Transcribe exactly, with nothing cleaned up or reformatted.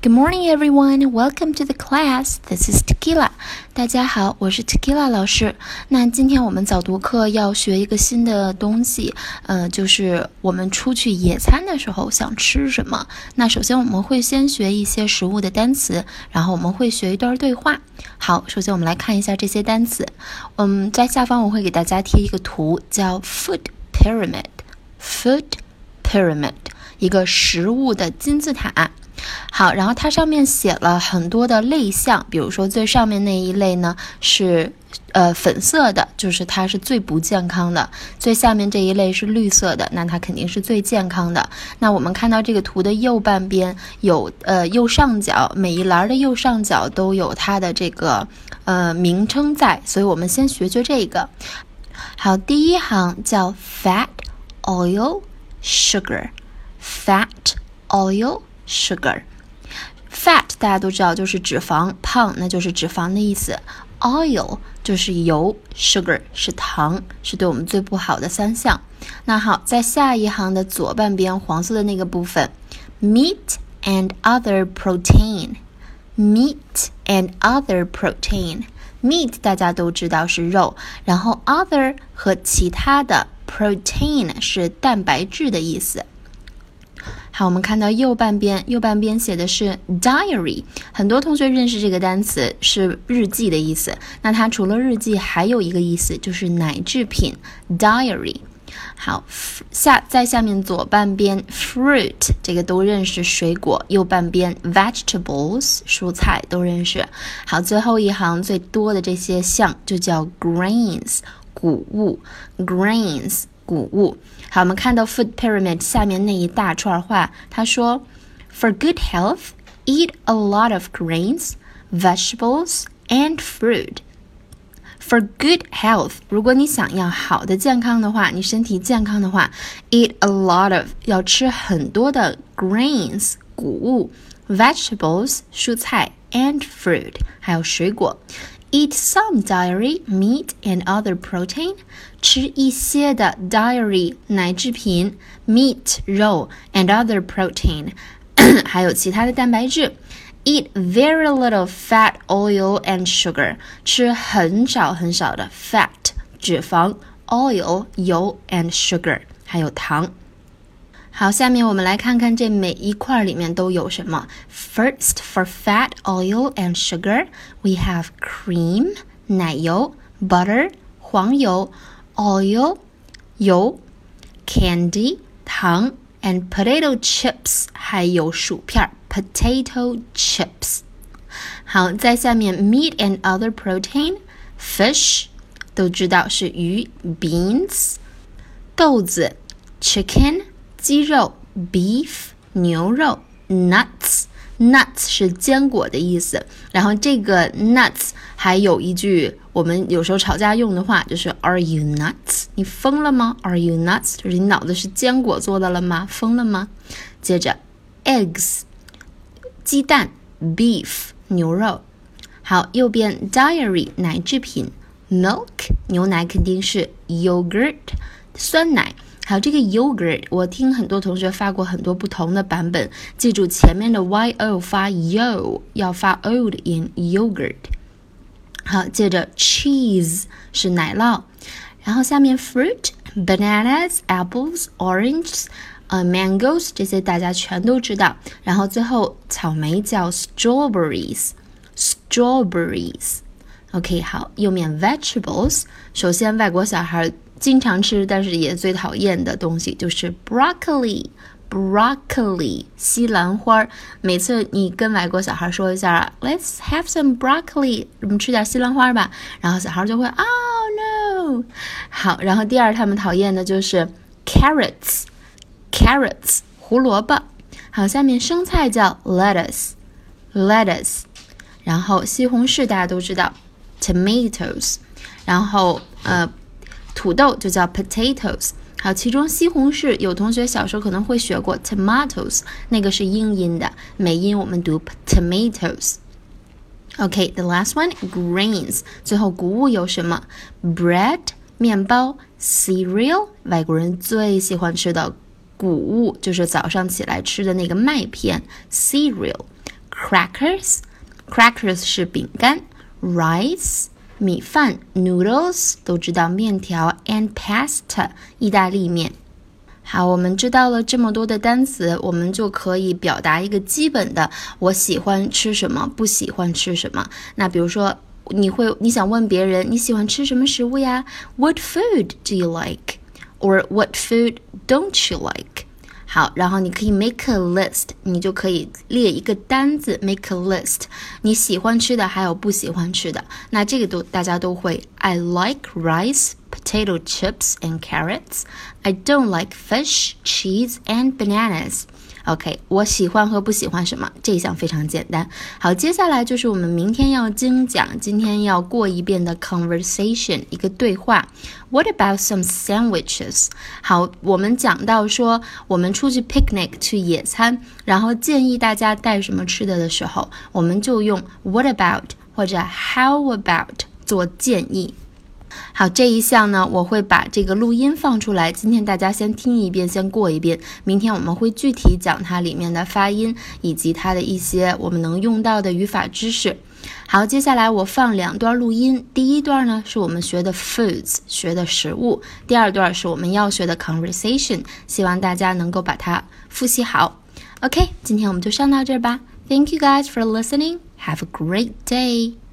Good morning, everyone. Welcome to the class. This is Tequila. 大家好，我是 Tequila 老师。那今天我们早读课要学一个新的东西，呃，就是我们出去野餐的时候想吃什么。那首先我们会先学一些食物的单词，然后我们会学一段对话。好，首先我们来看一下这些单词。嗯，在下方我会给大家贴一个图，叫 Food Pyramid。Food Pyramid， 一个食物的金字塔。好，然后它上面写了很多的类项，比如说最上面那一类呢是呃粉色的，就是它是最不健康的，最下面这一类是绿色的，那它肯定是最健康的。那我们看到这个图的右半边有呃右上角，每一栏的右上角都有它的这个呃名称在，所以我们先学学这个。好，第一行叫 fat oil sugar fat oil sugar fat 大家都知道就是脂肪，胖那就是脂肪的意思， oil 就是油， sugar 是糖，是对我们最不好的三项。那好，在下一行的左半边黄色的那个部分 meat and other protein meat and other protein meat 大家都知道是肉，然后 other 和其他的， protein 是蛋白质的意思。好，我们看到右半边，右半边写的是 diary， 很多同学认识这个单词是日记的意思，那它除了日记还有一个意思就是奶制品 diary。 好，下在下面左半边 fruit 这个都认识，水果，右半边 vegetables 蔬菜都认识。好，最后一行最多的这些项就叫 grains 谷物 grains 谷物。好，我们看到 Food Pyramid 下面那一大串话，他说 For good health, eat a lot of grains, vegetables, and fruit. For good health, 如果你想要好的健康的话，你身体健康的话， eat a lot of 要吃很多的 grains 谷物， vegetables 蔬菜 and fruit 还有水果。Eat some dairy, meat, and other protein. 吃一些的 dairy 奶制品 meat 肉 and other protein 还有其他的蛋白质。Eat very little fat, oil, and sugar. 吃很少很少的 fat 脂肪 oil 油 and sugar 还有糖。好，下面我们来看看这每一块里面都有什么。First, for fat, oil, and sugar, we have cream, 奶油 butter, 黄油 oil, 油 candy, 糖 and potato chips, 还有薯片 potato chips。 好，在下面 meat and other protein, fish 都知道是鱼 beans, 豆子 chicken鸡肉 beef 牛肉 nuts nuts 是坚果的意思，然后这个 nuts 还有一句我们有时候吵架用的话，就是 Are you nuts？ 你疯了吗？ Are you nuts？ 就是你脑子是坚果做的了吗？疯了吗？接着 eggs 鸡蛋 beef 牛肉。好，右边 dairy 奶制品 milk 牛奶肯定是 yogurt 酸奶。还有这个 yogurt 我听很多同学发过很多不同的版本，记住前面的 yo 发 yo 要发 o 的音 yogurt。 好，接着 cheese 是奶酪，然后下面 fruit bananas apples oranges、呃、mangoes 这些大家全都知道，然后最后草莓叫 strawberries strawberries OK， 好，右面 vegetables， 首先外国小孩经常吃但是也最讨厌的东西就是 broccoli broccoli 西兰花。每次你跟外国小孩说一下 Let's have some broccoli， 我们吃点西兰花吧，然后小孩就会 Oh no。 好，然后第二他们讨厌的就是 carrots carrots 胡萝卜。好，下面生菜叫 lettuce lettuce， 然后西红柿大家都知道tomatoes， 然后呃，土豆就叫 potatoes。 好，其中西红柿有同学小时候可能会学过 tomatoes， 那个是英音的，美音我们读 tomatoes。 OK， the last one grains， 最后谷物有什么 bread 面包 cereal 外国人最喜欢吃的谷物，就是早上起来吃的那个麦片 cereal crackers crackers 是饼干 rice 米饭 noodles 都知道面条 and pasta 意大利面。好，我们知道了这么多的单词，我们就可以表达一个基本的我喜欢吃什么，不喜欢吃什么。那比如说你会你想问别人你喜欢吃什么食物呀？ What food do you like? Or what food don't you like? 好，然后你可以 make a list 你就可以列一个单子 make a list 你喜欢吃的还有不喜欢吃的，那这个都大家都会 I like rice, potato chips and carrots. I don't like fish, cheese and bananas. OK, 我喜欢和不喜欢什么，这一项非常简单。好，接下来就是我们明天要精讲，今天要过一遍的 conversation 一个对话。What about some sandwiches? 好，我们讲到说我们出去 picnic 去野餐，然后建议大家带什么吃的的时候，我们就用 what about 或者 how about 做建议。好，这一项呢我会把这个录音放出来，今天大家先听一遍，先过一遍，明天我们会具体讲它里面的发音以及它的一些我们能用到的语法知识。好，接下来我放两段录音，第一段呢是我们学的 foods 学的食物，第二段是我们要学的 conversation， 希望大家能够把它复习好。 OK, 今天我们就上到这儿吧。 Thank you guys for listening. Have a great day.